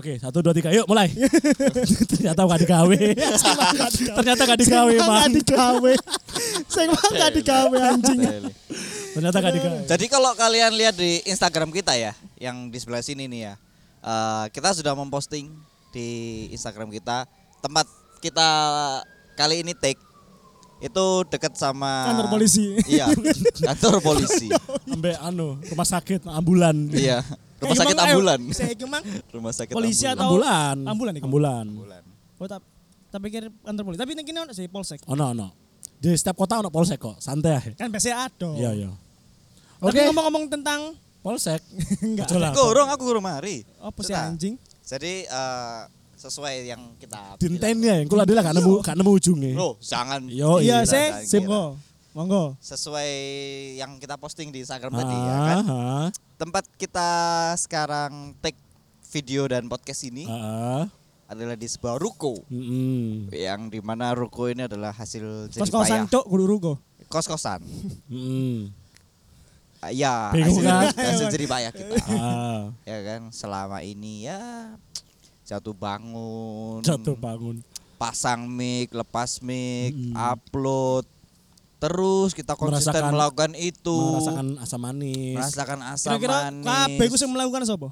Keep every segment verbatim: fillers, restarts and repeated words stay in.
Oke, satu dua tiga, yuk mulai. Ternyata gak digawe. Ternyata gak digawe, Bang. Gak digawe. Sing mah gak digawe anjing. Ternyata gak digawe. Jadi kalau kalian lihat di Instagram kita ya, yang di sebelah sini nih ya, uh, kita sudah memposting di Instagram kita tempat kita kali ini take itu dekat sama Kantor polisi. Iya, kantor polisi. Sampai anu, rumah sakit ambulan. Iya, rumah sakit ambulan. Saya emang Rumah sakit polisi ambulan. atau Ambulan. ambulan iku? Ambulan. Ambulan. Oh tak tak pikir kantor polisi. Tapi ning kene ono sih polsek. Ono ono. Di setiap kota ono polsek kok, santai aja. Kan biasa ada. Iya iya. Tapi Oke, ngomong-ngomong tentang polsek. enggak. Aja lah. Gorong aku gorong mari. Apa sih Sudah. anjing? Jadi uh, sesuai yang kita Dinten ya, kula adalah gak nemu gak nemu ujungnya. Loh, jangan. Yo Iya, Jangan saya kira. sim kok. Monggo. Sesuai yang kita posting di Instagram tadi ya kan. Heeh. Tempat kita sekarang take video dan podcast ini Heeh. adalah di sebuah ruko. Heeh. Yang dimana ruko ini adalah hasil jerih Kos-kosan payah. cuk kudu ruko. Kos-kosan. Heeh. Ah, ya, Bingung hasil, kan? hasil jerih payah kita. Ah, Ya kan, selama ini ya jatuh bangun, jatuh bangun. pasang mic, lepas mic, Hmm. upload, terus kita konsisten Merasakan- melakukan itu, Merasakan asam manis. merasakan asam Kira-kira manis. kabeh ku sing melakukan sapa?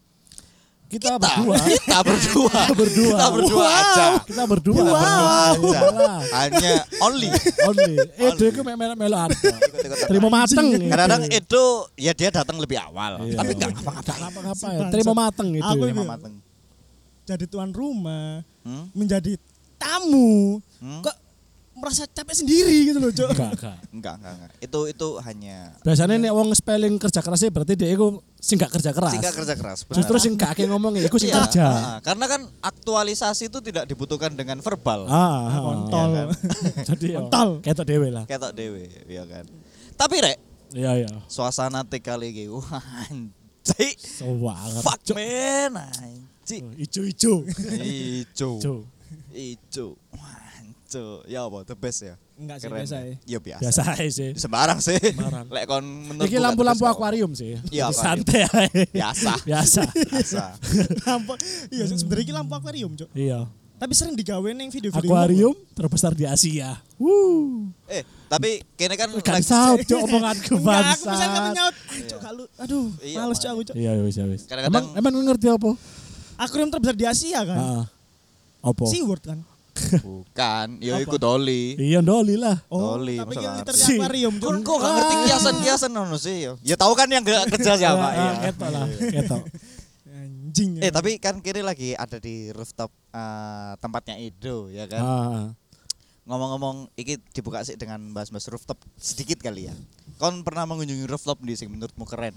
Kita, kita berdua. kita berdua, Kita berdua. kita berdua Wow. aja, Kita berdua. kita berdua Iya aja, lah. hanya only. Only. Eh, dia ku melo-melo ada. Ikut-ikutan. Terima mateng. Kadang-kadang itu ya dia datang lebih awal, Iya. tapi nggak ngapa-ngapain. Gak ngapa-ngapa ya. Bangsat. Terima mateng itu. Aku Terima itu. mateng. Jadi tuan rumah, Hmm? menjadi tamu. Hmm? Kok merasa capek sendiri gitu loh, Cok. Enggak, enggak. Enggak, enggak, enggak. Itu itu hanya Biasanya nih wong spelling kerja kerasnya berarti dia itu sing gak kerja keras. singkat kerja keras. benar. Justru sing gak akeh ngomongnya iku sing Iya, kerja. ah, karena kan aktualisasi itu tidak dibutuhkan dengan verbal. Ah, ah, Kontol. Iya kan? Jadi yo, Kontol. ketok dhewe lah. Ketok dewe, ya kan. Tapi rek, Iya iya. suasana tik kali iki wah anjing. So banget. Fuck man, anjing. Ijo-ijo. Ijo. Ijo. Ijo. Wah, anjing. Ya apa the best ya? Enggak sih Keren biasa ya. ya. Ya biasa. Biasa aja sih. Sembarang sih. Sembarang. Lek kon menurut Iki lampu-lampu akuarium sih. Iya, Jadi akuarium. santai aja. biasa. Biasa. Biasa. Lampu. Iya, sebenarnya iki lampu akuarium, Cok. Iya. Tapi sering digawe ning video-video. Akuarium terbesar di Asia. Wuh. Eh, tapi kene kan Kan lagi- saut cok omonganku Enggak, aku bisa bangsa. nyaut. Cok, gak lu. Aduh, Iya, males Cok aku, Cok. Iya wis wis. Kadang-kadang- Emang emang ngerti apa? Akuarium terbesar di Asia kan. Heeh. Apa? SeaWorld kan. bukan, ya Apa? iku Doli. Iya ndoli lah. Oh, Doli, tapi masa yang nggak liter ngerti? akuarium, Cok. Kok kok gak ngerti kiasan-kiasan ngono sih ya. Ya tahu kan yang gak kerja siapa Ah, ya. ketok lah, ketok. Anjing. Eh tapi kan kiri lagi ada di rooftop eh, tempatnya Edo ya kan. Ah. Ngomong-ngomong iki dibuka sih dengan bahas-bahas rooftop sedikit kali ya. Kon pernah mengunjungi rooftop di sing menurutmu keren?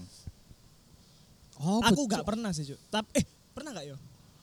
Oh, Aku gak pernah sih, Cok. Tapi eh, pernah gak yo?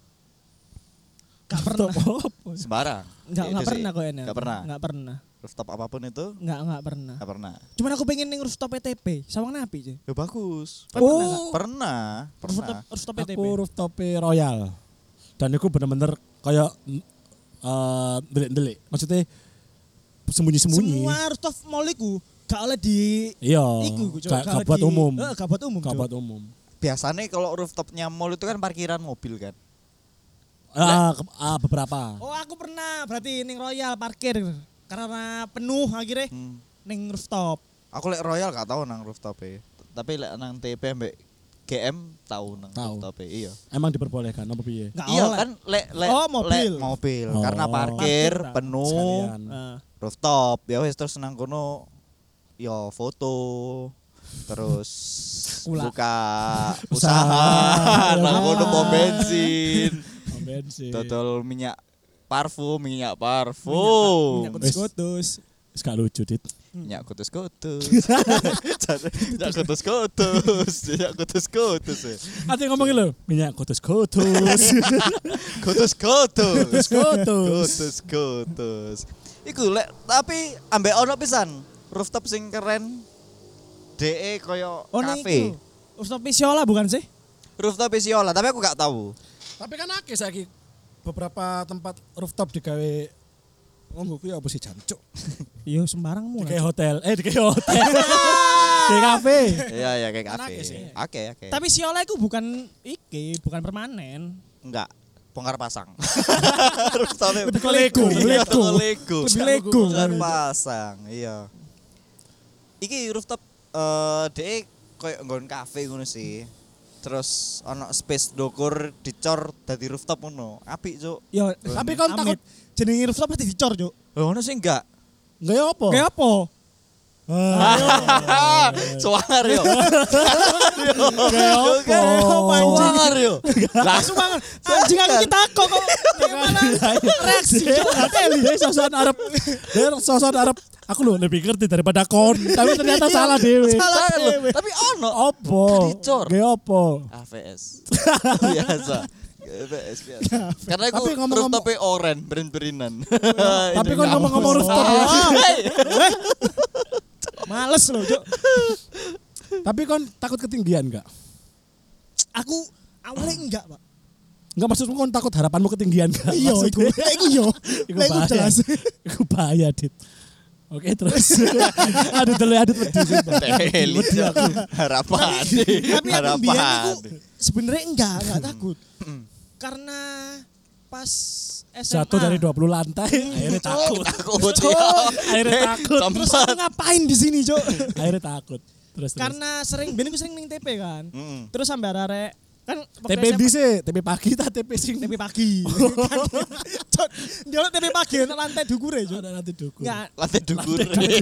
Gak pernah. Sembarang. Enggak, Itu enggak sih. pernah kok enak. Nggak pernah. Enggak pernah. Rooftop apapun itu Enggak, enggak pernah. enggak pernah. Cuman aku pengen ning rooftop P T P, Sawang Napi, Cok. Ya bagus. Oh. Pernah, pernah. Rooftop, rooftop P T P. Aku rooftop Royal. Dan itu bener-bener kayak eh delik-delik. Maksudnya sembunyi-sembunyi. Semua rooftop mall iku gak oleh di Iya. iku, Cok. Gak Gak gak oleh buat di- umum. Heeh, gak buat umum, Gak Cok. buat umum. Biasanya kalau rooftopnya mall itu kan parkiran mobil kan. Ah, ke- ah, beberapa. Oh, aku pernah berarti ning Royal parkir karena penuh akhirnya Hmm. ning rooftop. Aku lek Royal gak tahu nang rooftop e. Tapi lek nang T P mbek G M tahu nang Tahu. rooftop e. Iya. Emang diperbolehkan apa piye? Gak Iya oleh. kan lek lek Oh, mobil. lek mobil Oh. karena parkir Parkir, penuh Sekalian. Nah, rooftop ya wis terus nang kono yo foto terus Kula. buka Usaha. usaha nang kono pom bensin Oh, bensin. dodol minyak parfum minyak parfum minyak Wis. kutus-kutus. Wis gak lucu, Dit. minyak kutus-kutus minyak kutus-kutus minyak kutus-kutus ya. Nanti ngomongin lo, minyak kotus-kotus. kutus-kutus Kotus-kotus. kutus-kutus iku lek tapi ambek ono pisan rooftop sing keren D E koyo Oh, ning kafe iku. Rooftop Pisiola bukan sih? rooftop Isiola tapi aku gak tahu. Tapi kan akeh saiki beberapa tempat rooftop digawe ngomong kuwi apa sih jancuk? Iya, sembarangmu. Digawe hotel, eh digawe hotel. Di kafe. Iya ya kayak Kan kafe. akeh sih. Oke oke. Tapi Siola itu bukan iki, bukan permanen. Enggak, bongkar pasang. Rooftopnya Lebih ke Lego, Iya, Lego. ke Lego. Lebih Lego. Bongkar pasang, iya. Iki rooftop eh dhek koyo nggon kafe ngono sih. Terus ono space dokur dicor dadi rooftop ngono. Apik, Cuk. Yo, Tapi kon takut jenenge rooftop pasti dicor, Cuk. Oh, ngono sih enggak. enggak ya apa? Kayak apa? Ah, Suwangar yo. Kayak apa? Suwangar yo. Langsung banget. Anjing aku kita kok kok malah reaksi, Cuk. Dia sosokan Arab. Dia sosokan Arab. Aku loh lebih ngerti daripada kon. Tapi ternyata salah dewe. Salah dewe. Tapi ono Opo? Dicor. Kayak apa? A V S. Biasa. A V S biasa. Karena aku Tapi ngomong-ngomong- rooftopnya oren, berin-berinan. Tapi kon ngomong-ngomong rooftop ya. Males loh, Cuk. Tapi kon takut ketinggian enggak? Aku awalnya enggak, Pak. Enggak maksudmu kon takut harapanmu ketinggian enggak? Iya, iku. Iku yo. Iku Lah iku bahaya. jelas. Iku bahaya, Dit. Oke, terus. aduh, telu aduh wedi sumpah. Teli. Wedi aku. Harapan. Tapi aku biyen iku Harapan. sebenarnya enggak, enggak takut. Karena pas S M A Jatuh dari dua puluh lantai, akhirnya takut. Takut. Cuk. Akhirnya takut. Terus aku ngapain di sini, Cuk? Akhirnya takut. Terus terus. Karena sering ben aku sering ning T P kan. Mm. Terus sampai arek kan T P di sih, T P pagi ta T P sing T P pagi. Cuk, dia T P pagi nang lantai dukure, Cuk. ada nanti duku. Enggak, Lantai dukur.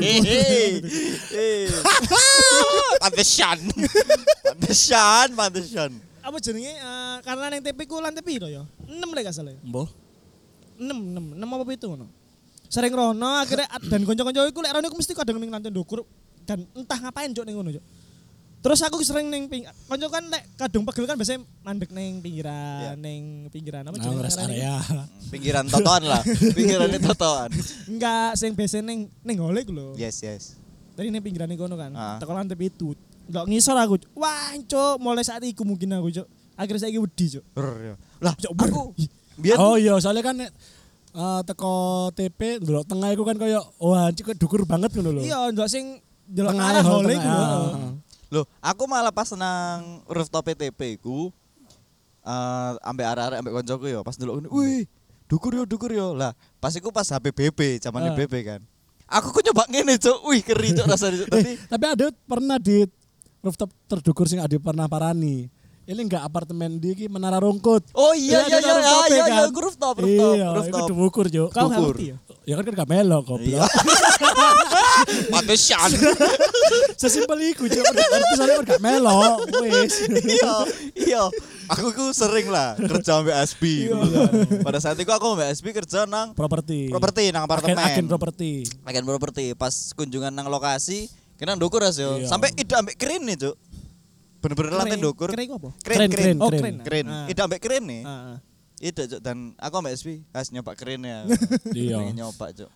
Pantesan. Pantesan, pantesan. apa jenenge eh, karena nang T P ku lantai piro ya? enam lek gak salah. ya? Mbah. enam, enam, enam apa pitu ngono. Sering rono akhirnya dan kanca-kanca iku lek rono iku mesti kadang ning lantai ndukur dan entah ngapain Cuk ning ngono, Cuk. Terus aku sering ning ping kanca kan lek kadung pegel kan biasanya mandek ning pinggiran, ning pinggiran apa Nah, jenenge? rest ngarani? area. Pinggiran totoan lah. Pinggiran itu totoan. Enggak, sing biasa ning ning gole iku lho. Yes, yes. Tadi ning pinggiran kono kan. Ah. Teko lantai pitu. Enggak ngisor aku. Cuk. Wah, Cuk, mulai saat iku mungkin aku, Cuk. Akhirnya saiki wedi, Cuk. Lah, Cuk, ber- aku biar Oh iya, soalnya kan nek, eh, teko T P ndelok tengah iku kan koyo wah cik dukur banget ngono lho. Iya, ndak sing delok Tengah arah hall, gole tengah. iku. lho. Ah. Loh, aku malah pas nang rooftop T P ku eh ambek arek-arek ambek koncoku yo, pas ndelok ngene, wih, dukur yo, dukur yo. Lah, pas iku pas H P B B, zamane Ah. B B kan. Aku kok nyoba ngene, Cuk. Wih, keri Cuk rasane Cuk. Tapi Eh, tapi ada pernah di rooftop terdukur sing ada pernah parani. Ini enggak apartemen di iki Menara Rungkut. oh iya iya iya Iya, ada iya rooftop, iya, kan? iya, rooftop, rooftop, Iya, rooftop. itu dukur, Juk. Kau enggak Dukur. ngerti ya? Ya kan kan gak melo Iya. goblok. Pantesan. Sesimpel iku, Juk. Ngerti soalnya kan gak melo. Wis. Iya, iya. Aku ku sering lah kerja ambek S B gitu kan. Pada saat itu aku ambek S B kerja nang Properti. properti nang apartemen. Agen, agen properti. Agen properti. Pas kunjungan nang lokasi, kena ndukur as yo. Iya. Sampai ida ambek keren nih, Cuk. Bener-bener lantai ndukur. Keren iku apa? Keren, Keren, keren. Oh, keren. keren. Keren. Ah. Ida ambek keren nih. Ah, ah. Ida, Cuk. Dan aku ambek S B, has nyoba keren ya. Iya. Pengen nyoba, Cuk.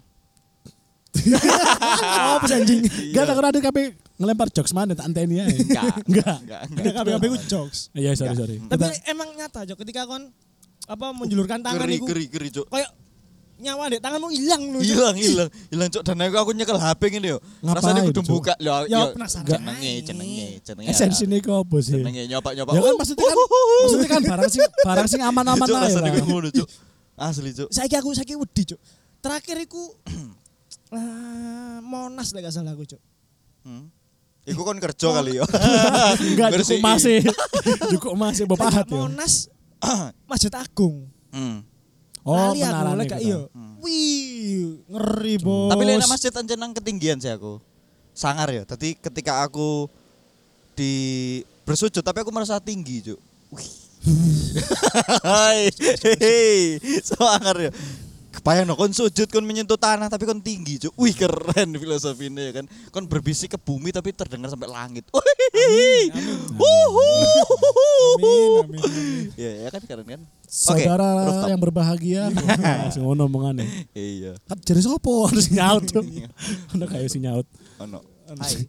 Oh, pas anjing. Enggak takut ada kape ngelempar jokes mana tak anteni ae. Enggak. Enggak. Enggak, Enggak enggak. kabeh-kabeh ku jokes. Iya, sorry sorry. Tapi Kita- emang nyata, Cuk, ketika kon apa menjulurkan tangan Keri, iku keri, keri, Cuk. kayak nyawa dek tanganmu hilang lho. Cuk. Hilang, hilang, hilang, Cuk. Dan aku aku nyekel H P ngene yo. Ngapain, Rasane kudu Cuk? buka. Lho, Ya, yo, penasaran. Jenenge, jenenge, jenenge. Esensi ini kok apa sih? Jenenge nyoba-nyoba. Ya kan maksudnya kan maksudnya kan barang sing barang sing aman-aman Cuk, ae rasane lah. kudu ngono, Cuk. Asli, Cuk. Saiki aku saiki wedi, Cuk. Terakhir iku ah, Monas lek gak salah aku, Cuk. Hmm. Iku kon kerja kali yo. Enggak cukup Bersih. masih. Cukup masih bapak ya. Monas Masjid Agung. Hmm. Oh, Lali aku menarane lek gak gitu. iya. Wih, ngeri, Bos. Tapi lek nang masjid anjen nang ketinggian sih aku. Sangar ya. Tadi ketika aku di bersujud tapi aku merasa tinggi, Cuk. Wih. Hai. Hei. Sangar ya. Kebayang no, kon sujud kon menyentuh tanah tapi kon tinggi, Cuk. Wih, keren filosofinya ya kan. Kon berbisik ke bumi tapi terdengar sampai langit. Wih. Wuhu. Amin, amin, amin. Ya, ya kan keren kan? Saudara rooftop. yang berbahagia. Langsung ngono omongane. Iya. Kan jadi sopo harus nyaut tuh. Ono kayak si nyaut. Ono. Hai.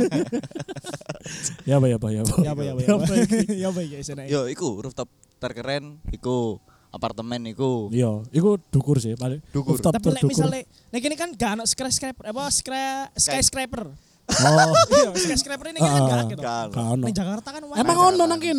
Ya apa ya apa ya apa. Ya apa ya apa. Ya apa. Ya apa ya sana. Yo, iku rooftop terkeren, iku apartemen iku. Iya, iku dukur sih paling. Dukur. Rooftop Tapi lek terdukur. misalnya nek ini kan gak ono skyscraper apa skra skyscraper. Oh, Iya, skyscraper ini kan Ah, gak akeh to. Kan. gak ono. Ning Jakarta kan wah. Emang ono nang kene.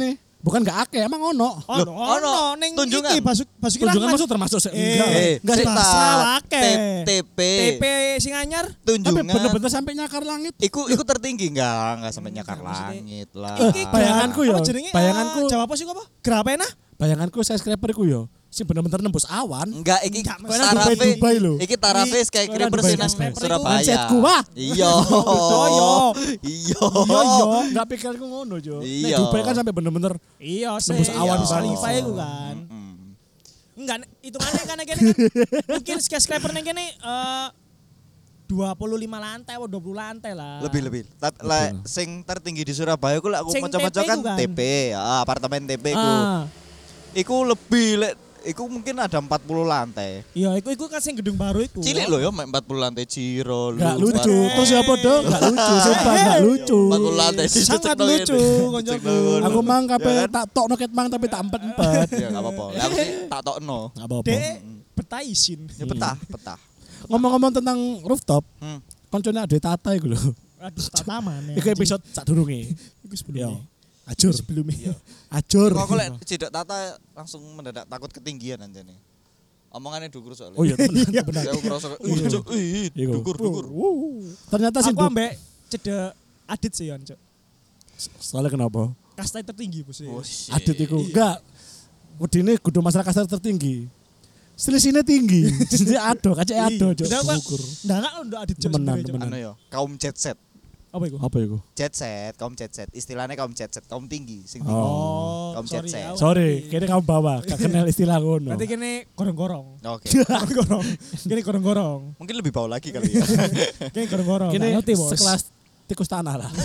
Bukan gak akeh, emang ono. Oh, Loh, no, ono. no, ning Tunjungan. iki Basuki Basuki Tunjungan Rahmat. maksud termasuk se- Eh, enggak. Eh, Enggak sih. Sita, Masalah akeh. T P, T P sing anyar. Tapi tunjungan. bener-bener sampai nyakar langit. Iku iku tertinggi enggak, enggak sampai nyakar Enggak, maksudnya. langit lah. Eh, Iki bayanganku gra- ya, apa jenenge? bayanganku. Eh, Jawab apa sih apa? Grapena? Bayanganku skyscraper iku yo, sing bener-bener nembus awan. Enggak, iki Enggak, Kok enak tarafe. Dubai, Dubai lho. Iki tarafe kayak Kok kira enak persis Dubai nang skyscraper iku. Surabaya. Mindsetku, wah. Iya. Oh, iya. Iya. Iya, iya. Enggak pikirku ngono, Jo. Nek Iya. Dubai kan sampai bener-bener Iya, Nembus sih. awan Iya, banget. Khalifa iku kan. Mm. Enggak, itu mana kan kene kan. Mungkin skyscraper nang kene eh dua puluh lima lantai atau dua puluh lantai lah. Lebih lebih. Tapi lah sing tertinggi di Surabaya ku lek aku Sing maca-maca T P kan ku kan. T P, ah, apartemen T P ku. Ah. Iku lebih lek iku mungkin ada empat puluh lantai. Iya, iku iku kan sing gedung baru iku. Cilik loh ya mek empat puluh lantai Ciro. Gak lu, lucu. empat- Terus siapa dong? Gak lucu. Sumpah gak lucu. empat puluh lantai sih Sangat cecek dong lucu, ini. koncoku. Cecek dong. Aku mang kape Ya kan? tak tok noket mang tapi tak empet-empet. Ya enggak apa-apa. Lah aku sih tak tokno. Gak apa-apa. Dek betaisin. Ya petah, petah. Ngomong-ngomong tentang rooftop, Hmm. koncone ada Tata iku lho. Aduh, tataman ya. Iku episode sak durunge. Iku Yo. sebelumnya. Ajur. Sebelumnya. Ajur. Kok aku lek cidak tata langsung mendadak takut ketinggian anjene. Omongannya dukur soalnya. Oh iya benar benar. Ya aku ngerasa ih cuk, ih Iku. dukur dukur. Ternyata sih Aku ambek cedek Adit sih yon, Cuk. soalnya kenapa? Kasta tertinggi bos. Oh, shit. Adit iku enggak. Wedine kudu masyarakat tertinggi. Selisihnya tinggi. Jadi ado, kacek ado, Cuk. Udah, Pak. Ukur. Nggak enggak untuk Adit Cuk. Temenan, sebenarnya, Cuk. temenan. Anu ya, kaum jet set. Apa iku? Apa iku? Jet set, kaum jet set. Istilahnya kaum jet set, kaum tinggi, sing tinggi. Oh. Kaum sorry, jet set. aku Sorry, ngerti. kayaknya kamu bawa, gak kenal istilah ngono. Berarti kene gorong-gorong. Oke. Gorong-gorong. Kene gorong-gorong. Mungkin lebih bawah lagi kali ya. Kene gorong-gorong. Kini Nggak ngerti, Bos. sekelas tikus tanah lah.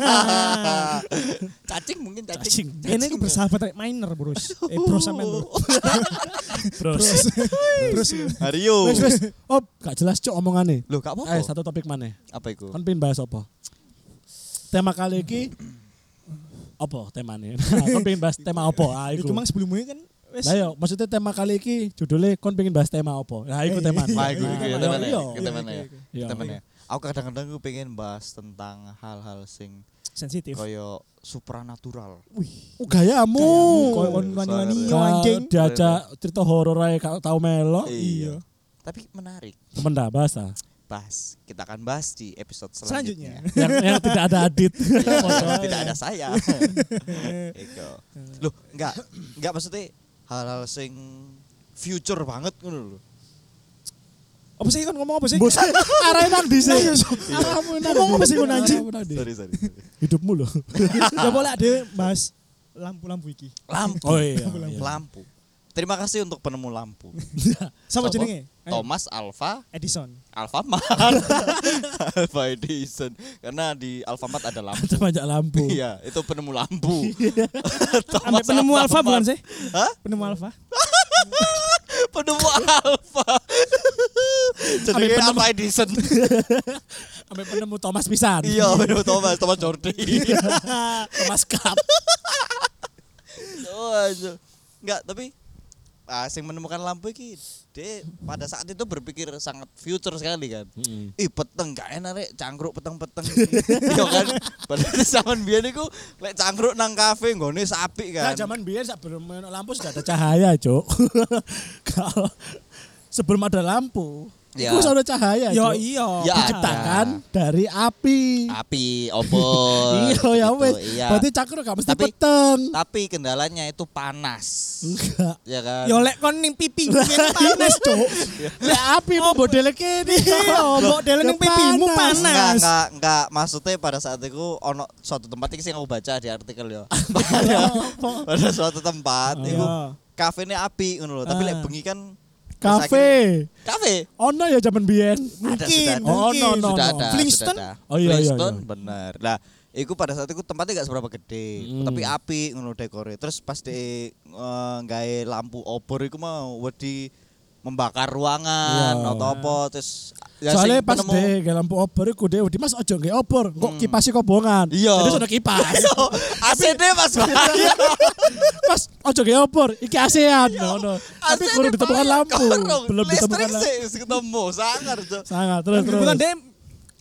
Cacing mungkin Cacing. cacing. Kene iku bersahabat kayak minor, Bros. Eh, Bros sampean, Bro. Bros. Bros. Hario. Wes wes. Oh, gak jelas cok omongane. Loh, gak Eh, apa-apa. satu topik mana? Apa itu? Kon pengen bahas apa? Tema kali ini apa temanya? Nah, kon pengen bahas tema apa? Ah, Iku iku. mang sebelumnya kan wes Lah yo, maksudnya tema kali ini judulnya kon pengen bahas tema apa? Nah, iku tema. Wah, iku iku ya temane. Iya. Iku temane ya. Iya. Temane. Aku kadang-kadang aku pengen bahas tentang hal-hal sing sensitif. koyo supranatural. Wih, Oh, gayamu. koyo kon wani-wani yo Ka- anjing. Diajak cerita horor ae kau tahu melo. Iya. Tapi menarik. Temen dah bahas ah. Bahas. Kita akan bahas di episode Selanjutnya. selanjutnya. yang, yang tidak ada Adit. Iya, tidak ada saya. Iku. Loh, enggak, enggak maksudnya hal-hal sing future banget ngono lho. Apa sih kan ngomong apa sih? Bos, arahnya nang di sini. Arahmu nang Ngomong apa sih, kon, anjing? Arahmu nang di. Sorry, sorry. Hidupmu loh. Ya boleh ada bahas lampu-lampu iki. Lampu. Oh iya. iya. Lampu. Terima kasih untuk penemu lampu. Sama Sopo? jenenge? Ayo. Thomas Alva Edison. Alfamart. Alva Edison. Karena di Alfamart ada lampu. Ada banyak lampu. Iya, itu penemu lampu. Ambek Thomas penemu alfa Alfamart. bukan sih? Hah? Penemu alfa. Penemu Alfa. Jadi Ambil penemu- Alva Edison. Sampai penemu Thomas pisan. Iya, penemu Thomas, Thomas Jordi. Thomas Cup. Oh, aja. Enggak, tapi ah, sing menemukan lampu iki dia pada saat itu berpikir sangat future sekali kan. Ih peteng gak enak rek cangkruk peteng-peteng. Iya kan. Padahal zaman biyen iku lek cangkruk nang kafe nggone sapi Nah, kan. zaman biyen sebelum main lampu sudah ada cahaya, Cuk. Kalau sebelum ada lampu, Ya. itu sudah ada cahaya, Yo Cuk. iya. Ya, Diciptakan dari api. Api obor. Iya ya gitu, wes. Iya. Berarti cakro gak mesti Tapi- peteng. Tapi kendalanya itu panas. Enggak. Ya kan. Yo lek kon ning pipi ngene panas, Cuk. Lek api mau modele kene. Iya, mbok dele ning pipimu Enggak, panas. enggak, enggak. Maksudnya pada saat itu ono suatu tempat iki sing aku baca di artikel ya. pada, pada suatu tempat Oh. iku Iya. kafene api ngono lho, tapi Ah. lek bengi kan Kafe. kafe Ono ya zaman biyen. ada Mungkin, sudah ada. Oh, mungkin. no, no, sudah no. ada, Flintstone? sudah ada. Oh, iya, iya, Flintstone, iya. bener. Lah, iku pada saat itu tempatnya gak seberapa gede, Hmm. tapi api ngono dekore. Terus pas di eh, gawe lampu obor iku mau wedi membakar ruangan Iya. atau apa terus ya Soalnya sing pas penemu- deh lampu obor iku deh, di Mas ojo nggih obor, kok kipasi kobongan. Iya. Jadi sudah kipas. A C D Mas bahaya. Mas ojo nggih obor, iki ASEAN ngono. Tapi A C D kurang ditemukan bahaya. lampu. Kurang. Belum ditemukan Listrik lampu. sih ketemu sangar Cuk. Sangat terus terus. Bukan deh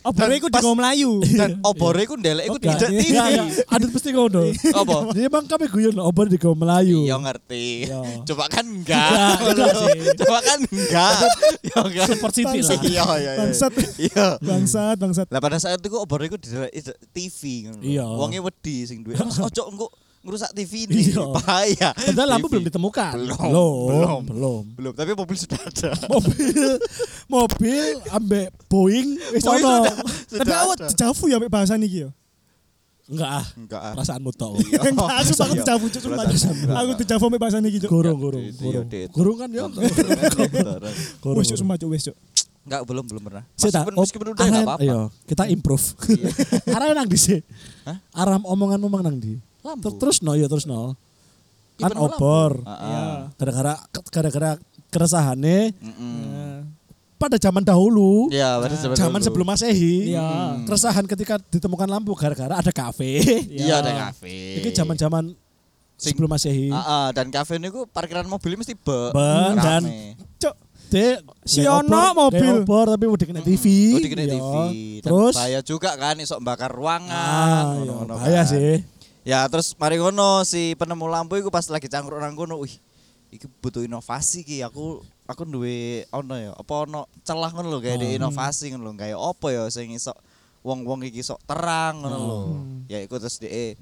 Obore iku pas- digawa Melayu. Dan obore iku ndelek iku Enggak, tidak T V. enggak, enggak. Adit mesti ngono. Apa? Dia emang kami guyon obor di kaum Melayu. Iya ngerti. Iya. Coba kan enggak. Enggak, enggak sih. Coba kan enggak. Ya enggak. Support City lah. Iya iya iya. Bangsat. Iya. Bangsat, bangsat. Lah pada saat itu obor iku di T V ngono. lho. Iya. Wonge wedi sing duwe. Mas ojo engko ngerusak T V ini. Iya. Bahaya. Padahal lampu T V. belum ditemukan. Belum, Belum. belum. Belum. Belum, tapi mobil sudah ada. Mobil mobil ambek Boeing wis Boeing ono. sudah- Tapi sudah awak ada. dejavu ya mek bahasa niki yo. Enggak ah. Enggak ah. Perasaanmu tok. Enggak, aku aku Iya. dejavu cuk sumpah. Perasaan. Aku dejavu mek bahasa niki cuk. Gorong gorong Iya, gorong. Dit. Gorong kan ya. Gorong. Wis cuk sumpah cuk wis cuk. Enggak, belum belum pernah. Sik tak, Meskipun, meskipun udah arah- enggak apa-apa. Iya, kita improve. Arah nang di sih. Hah? Arah omongan-omongan nang di. Lampu. Ter- Terus no ya terus no. Iya, Kan bener, lampu. obor. Heeh. Iya. Gara-gara gara-gara keresahane Mm-mm. Nah, pada zaman dahulu. Iya, pada zaman Zaman dulu. sebelum Masehi. Iya. Keresahan ketika ditemukan lampu gara-gara ada kafe. Iya, ada kafe. Ini zaman-zaman Sing- sebelum Masehi. Heeh, dan kafe niku parkiran mobil mesti be. Ben, dan rame. Cuk. Dek, Si kayak ono obor- mobil. kayak obor tapi udah kena T V. Oh, dikene T V. Iya. Dan Terus bahaya juga kan iso bakar ruangan. ah, iya, ngono-ngono bahaya kan. sih. Ya, terus mari ngono si penemu lampu iku pas lagi cangkruk nang kono, wih. Iki butuh inovasi ki. Aku aku duwe ono ya, apa ono celah ngono lho kayak Oh. di inovasi ngono lho. Kayak apa ya sing iso wong-wong iki sok terang ngono lho. Ya iku terus dhek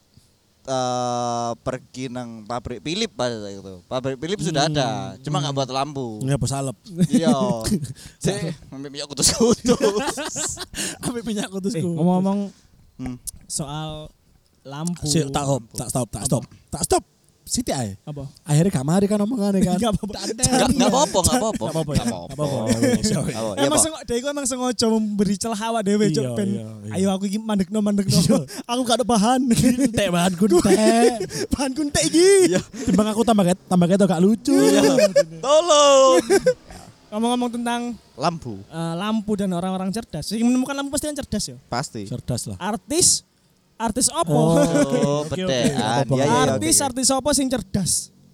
eh pergi nang pabrik Philip pada saat itu. Pabrik Philip sudah ada, cuma nggak buat lampu. Nggak salep. Iya. Cek, ambil minyak kutus-kutus. Ambil minyak Eh, kutusku. ngomong-ngomong Hmm. soal lampu. Sik, tak stop, tak stop, tak stop. Tak stop. Siti ae. Apa? Akhirnya gak mari kan omongannya kan. Enggak apa-apa. Enggak enggak apa-apa, enggak apa-apa. Nggak apa-apa ya? Nggak Nggak apa-apa. Iya, iya. Apa? Ya, Emang Pak. sengaja, dia emang sengaja memberi celah awak dhewe Iya, cuk ben. iya, iya. Ayo aku iki mandekno mandekno. Aku gak ada bahan. Entek bahan kuntek. Bahan kuntek iki. Iya. Timbang aku tambah ket, tambah ket gak lucu. Tolong. Ngomong-ngomong tentang Lampu. eh, lampu dan orang-orang cerdas. Yang menemukan lampu pasti kan cerdas ya. Pasti. Cerdas lah. Artis artis opo? Oh, Oke, oke. betean. Apa-apa. Iya, iya, iya, artis oke, oke. artis opo sing cerdas?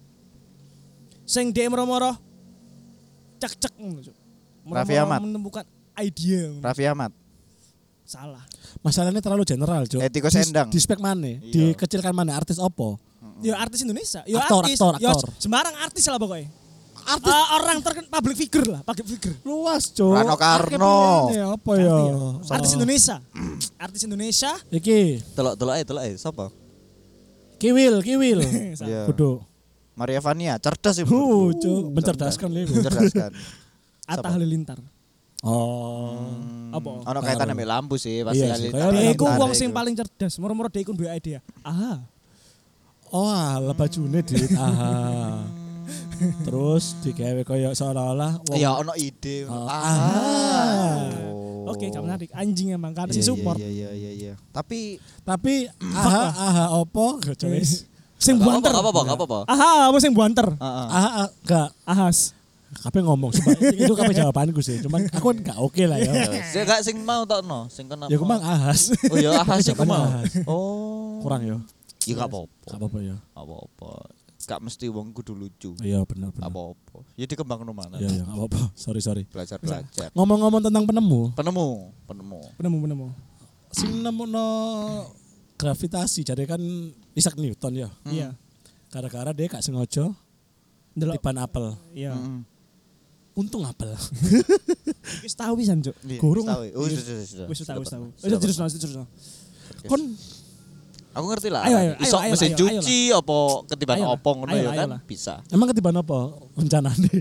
Sing D M moro-moro cek-cek ngono cuk. Moro-moro Raffi Ahmad. menemukan ide. Raffi Ahmad. Salah. Masalahnya terlalu general, Cuk. Hetty Koes Di- Endang. Di spek mana? Iya. Dikecilkan mana? Artis opo? Ya artis Indonesia. Ya Aktor, artis. aktor, Ya aktor. sembarang artis lah pokoknya. Artis Eh, orang terkenal public figure lah, public figure. luas, Cuk. Rano Karno. Akeh pilihannya, apa ya? Artis Oh. Indonesia. Artis Indonesia. Iki, Telok-telok ae, telok ae. Sapa? Kiwil, Kiwil. Iya. Kudu. Maria Vania, cerdas ibu. Uh, Cuk, mencerdaskan lho. Mencerdaskan. Atta Siapa? Halilintar. Oh. Apa? Ono kaitan ambek lampu sih, pasti Iya sih, kali. kayak Dia iku tarik wong sing iku. paling cerdas. Moro-moro dia iku duwe ide. Ah. Oh, ala bajune dit. Aha. Terus digawe koyo seolah-olah wong Iya, ono ide. Oh. Ah. Oke, gak menarik. Anjing emang karena si Iya, support. Iya, iya, iya, iya. Tapi tapi aha aha opo gak wis. Sing Nggak buanter. apa-apa, nggak apa-apa. Aha, apa sing buanter? Heeh. Aha ah, gak Ahas. kabeh ngomong sumpah. Itu kabeh jawabanku sih. Cuman aku kan gak oke lah ya. Saya gak sing mau tokno, sing kena. Ya aku mang ahas. Oh iya, ahas sing Jawabannya mau. ahas. Oh. Kurang ya. Ya gak apa-apa. Gak apa-apa ya. Gak apa-apa. Gak mesti wong kudu lucu. Iya benar Gak benar. apa-apa. Ya dikembang mana. Iya iya gak apa-apa. Sorry sorry. Belajar-belajar. Ngomong-ngomong tentang penemu, Penemu, penemu. Penemu penemu. sing nemuno gravitasi jadi kan Isaac Newton ya. Iya. Gara-gara dia gak sengaja Ndelok. tiban apel. Iya. Heeh. Untung apel. Wis tahu pisan, Cuk. Gurung. Tahu. Oh, sudah, sudah, sudah. Wis tahu, wis Sudah, tahu. sudah, Wis sudah. terus terus terus. Kon Aku ngerti lah. Ayo, ayo, Iso ayo, ayo, mesin ayo, cuci apa ketiban Ayo lah, opong ngono ayo ya lah, kan ayo lah. bisa. emang ketiban apa rencananya?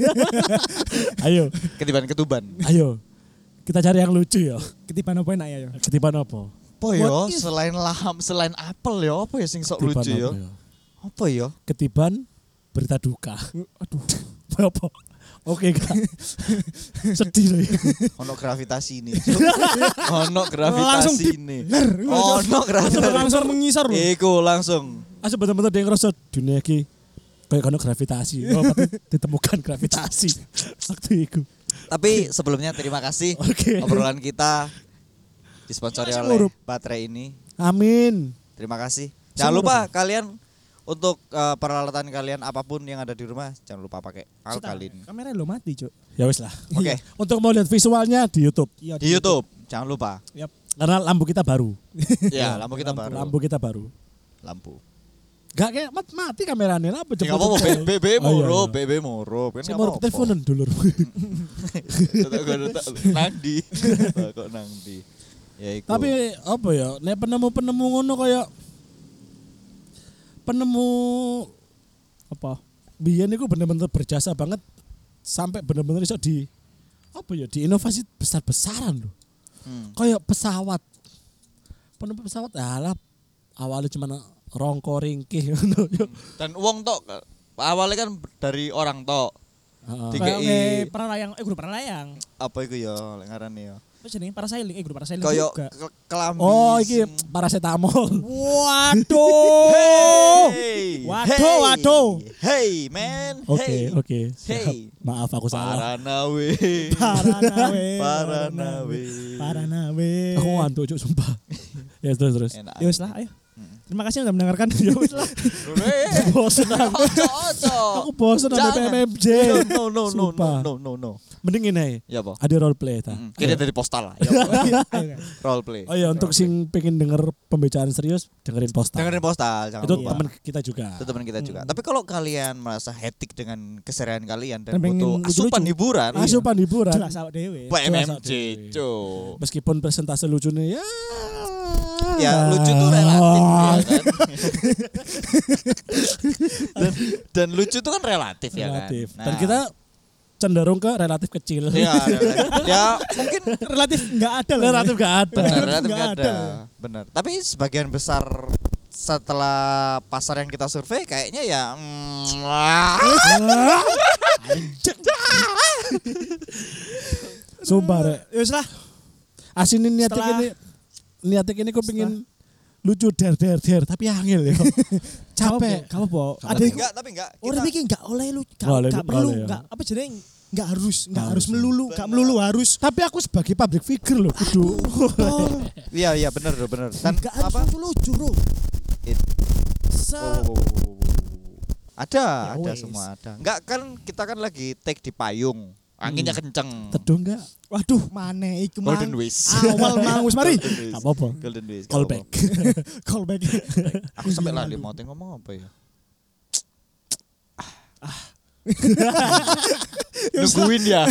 Ayo, Ketiban ketuban. ayo. Kita cari yang lucu ya. Ketiban apa enak ya, yo. Ketiban apa? Apa ya What if- selain laham, selain apel ya apa ya sing sok Ketiban lucu ya? apa ya? Apa ya? Ketiban berita duka. Aduh. Apa? Oke kak. Sedih loh. Ono gravitasi ini. Ono Langsung gravitasi di- ini. Ler. Ono gravitasi. Langsung mengisor lho. Iku langsung. Asal bener-bener dia ngerasa dunia ki kayak kono gravitasi. Oh, berarti ditemukan gravitasi waktu itu. Tapi sebelumnya terima kasih Oke. obrolan kita disponsori Masih oleh ngurup. baterai ini. Amin. Terima kasih. Jangan lupa kalian untuk eh, peralatan kalian apapun yang ada di rumah jangan lupa pakai alkalin. Kamera lo mati, Cuk. Ya wis lah. Oke. Untuk mau lihat visualnya di YouTube. Iya, Di YouTube. jangan lupa. Yap. Karena lampu kita baru. Ya, lampu kita baru. Lampu kita baru. Lampu. Gak kayak mat mati kameranya lah apa Enggak apa-apa, B B Oh, iya, moro, iya. B B moro. Kan Saya enggak mau apa-apa. teleponan dulu. Tetep gak ada nang ndi. Kok nang ndi. Ya iku. Tapi apa ya? Nek penemu-penemu ngono kayak penemu Apa? biyen iku bener-bener berjasa banget sampai bener-bener iso di apa ya? Di inovasi besar-besaran loh. Hmm. Kayak pesawat. Penemu pesawat alah awalnya cuma rongko ringkih ngono yo. Dan uang tok awalnya kan dari orang tok. Heeh. Tiga Kayak i. nge paralayang, eh guru paralayang. Apa iku ya lek ngarane ya. Apa jenenge? Parasailing, eh guru parasailing Kayak juga. ke- kelambi. Oh, iki paracetamol. Waduh. Hey. Waduh, Hey. waduh. Hey, man. Oke, Hey. oke. Siap. Hey. Maaf aku salah. Paranawe. Paranawe. Paranawe. Paranawe. Aku ngantuk cuk sumpah. Ya terus terus. Enak. Ya wis lah, ayo. Terima kasih sudah mendengarkan. Ya wis lah. Bosen aku. Ojo, ojo. Aku bosen sama P Jangan. M M J. No, no, no, no, Sumpah. no, no, no. Mending ini Ya apa? ada role play ta. Mm, Kita dari postal lah. Ya, Ayo, kan. role play. Oh iya untuk sing pengen denger pembicaraan serius dengerin postal. Dengerin postal, jangan Itu lupa. teman kita juga. Itu teman kita juga. Tapi kalau kalian merasa hektik dengan keseharian kalian dan Dan pengen butuh lucu-lucu. asupan hiburan, Asupan hiburan. Jelas awak dewe. P M M J, Jelas, cuk. Meskipun presentase lucunya ya Ya lucu tuh relatif ya kan. dan, dan lucu tuh kan relatif, ya kan. relatif. Nah, Dan kita cenderung ke relatif kecil. ya, relatif. ya mungkin Relatif enggak ada lah. relatif gak ada. benar relatif Nggak nggak ada. ada. Benar. Tapi sebagian besar setelah pasar yang kita survei kayaknya ya mm, Sumpah rek. Ya wis lah. Asinin niatnya Setelah- ini niatnya ini kok pengen lucu der der der tapi angel ya. Capek. Kamu po. Ada Ada iku. enggak tapi enggak Orang kita mikir enggak oleh lu, enggak Nggak oleh, enggak nggak perlu, oleh, ya. enggak apa jenenge enggak harus, enggak Nggak harus harus, melulu, enggak Benar. melulu harus. Tapi aku sebagai public figure loh kudu. Tol. iya iya benar bro, benar. Dan Enggak harus apa? langsung lucu, Bro. It- Se Oh, ada, Ya ada wes. semua ada. Enggak kan kita kan lagi take di payung. Anginnya kenceng. Teduh enggak? Waduh, mana iku mang. Golden Ways. Awal mang wis mari. Golden Ways. Gak apa-apa. Golden Ways. Call Gak back. apa-apa. Call back. Aku sampai lali mau ngomong apa ya? Nungguin ya.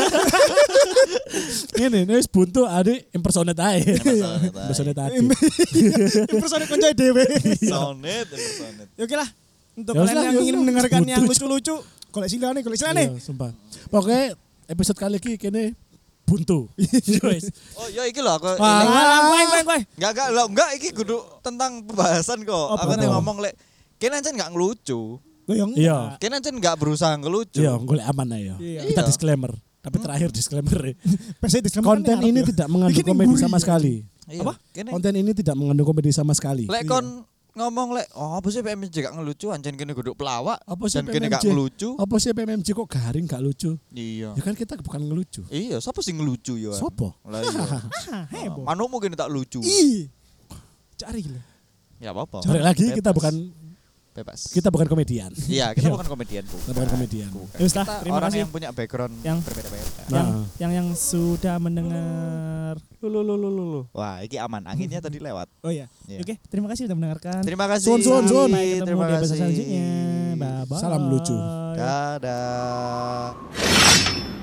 Ini nih wis buntu ade impersonate ae. Impersonate ae. Impersonate ade. Impersonate konco dhewe. Sonet, sonet. Ya oke lah. Untuk Ya wis kalian lah, yang ya ingin wis lah. mendengarkan yang Butuh, lucu-lucu, koleksi nih, koleksi nih. Iya, sumpah. Pokoknya episode kali ini kene buntu. Wis. Oh, ya iki lho aku. Wah. ini- Wah, kowe kowe kowe. Enggak enggak lho, enggak iki kudu tentang pembahasan kok. Apa Aku nanti tuh? ngomong lek kene ancen enggak ngelucu. Goyong. Iya. Kene ancen enggak berusaha ngelucu. Iya, golek aman ae ya. Iya. Kita Iya. disclaimer. Tapi terakhir disclaimer. Pasti disclaimer Konten kan ini ngarep ya. tidak mengandung Bikin komedi nguri sama ya. sekali. Iya. Apa? Kene Konten ini tidak mengandung komedi sama sekali. lek kon ngomong lek oh apa sih P M M J gak ngelucu ancen kene kudu pelawak Apa sih dan kene gak P M M J? ngelucu. Apa sih P M M J kok garing gak lucu? Iya. Ya kan kita bukan ngelucu. Iya, siapa sih ngelucu ya? Sopo? Lah iya. Ah, heboh. Manukmu kene tak lucu. Ih. Cari gila. Ya apa-apa. Sore lagi kita Bebas. bukan bebas. kita bukan komedian. Iya, kita Iya. bukan komedian, Bu. Kita bukan komedian. Bukan. Ya wis lah, Kita terima orang kasih. yang punya background Yang- berbeda-beda. Nah. Yang yang yang sudah mendengar. Lu lu lu lu lu. Wah, ini aman. Anginnya tadi lewat. Oh iya. Iya. Oke, terima kasih sudah mendengarkan. Terima kasih. Sun, sun, sun. Sampai ketemu Terima di episode kasih. selanjutnya. Bye bye. Salam lucu. Dadah.